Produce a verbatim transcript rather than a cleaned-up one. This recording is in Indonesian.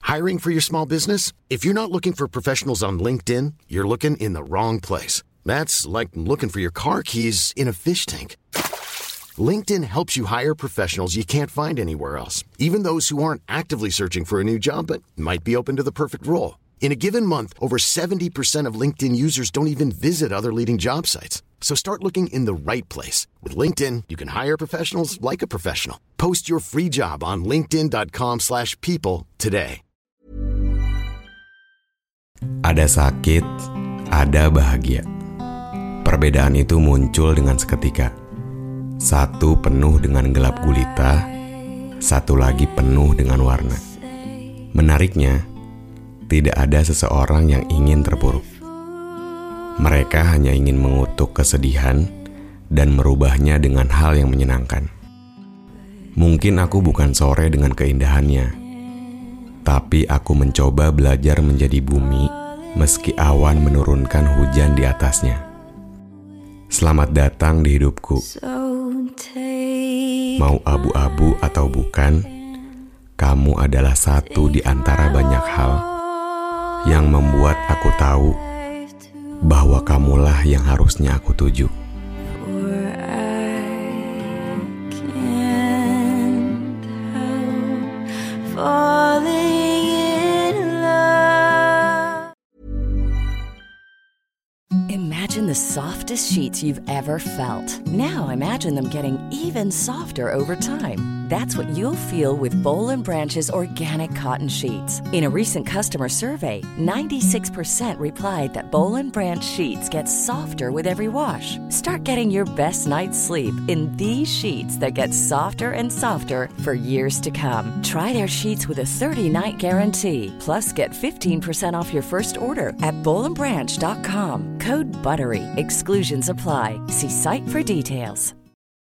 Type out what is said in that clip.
Hiring for your small business? If you're not looking for professionals on LinkedIn, you're looking in the wrong place. That's like looking for your car keys in a fish tank. LinkedIn helps you hire professionals you can't find anywhere else, even those who aren't actively searching for a new job but might be open to the perfect role. In a given month, over seventy percent of LinkedIn users don't even visit other leading job sites. So start looking in the right place. With LinkedIn, you can hire professionals like a professional. Post your free job on linkedin.com slash people today. Ada sakit, ada bahagia. Perbedaan itu muncul dengan seketika. Satu penuh dengan gelap gulita, satu lagi penuh dengan warna. Menariknya, tidak ada seseorang yang ingin terpuruk. Mereka hanya ingin mengutuk kesedihan dan merubahnya dengan hal yang menyenangkan. Mungkin aku bukan sore dengan keindahannya, tapi aku mencoba belajar menjadi bumi meski awan menurunkan hujan di atasnya. Selamat datang di hidupku. Mau abu-abu atau bukan, kamu adalah satu di antara banyak hal yang membuat aku tahu bahwa kamulah yang harusnya aku tuju. Imagine the softest sheets you've ever felt. Now imagine them getting even softer over time. That's what you'll feel with Boll and Branch's organic cotton sheets. In a recent customer survey, ninety-six percent replied that Boll and Branch sheets get softer with every wash. Start getting your best night's sleep in these sheets that get softer and softer for years to come. Try their sheets with a thirty-night guarantee. Plus, get fifteen percent off your first order at boll and branch dot com. Code BUTTERY. Exclusions apply. See site for details.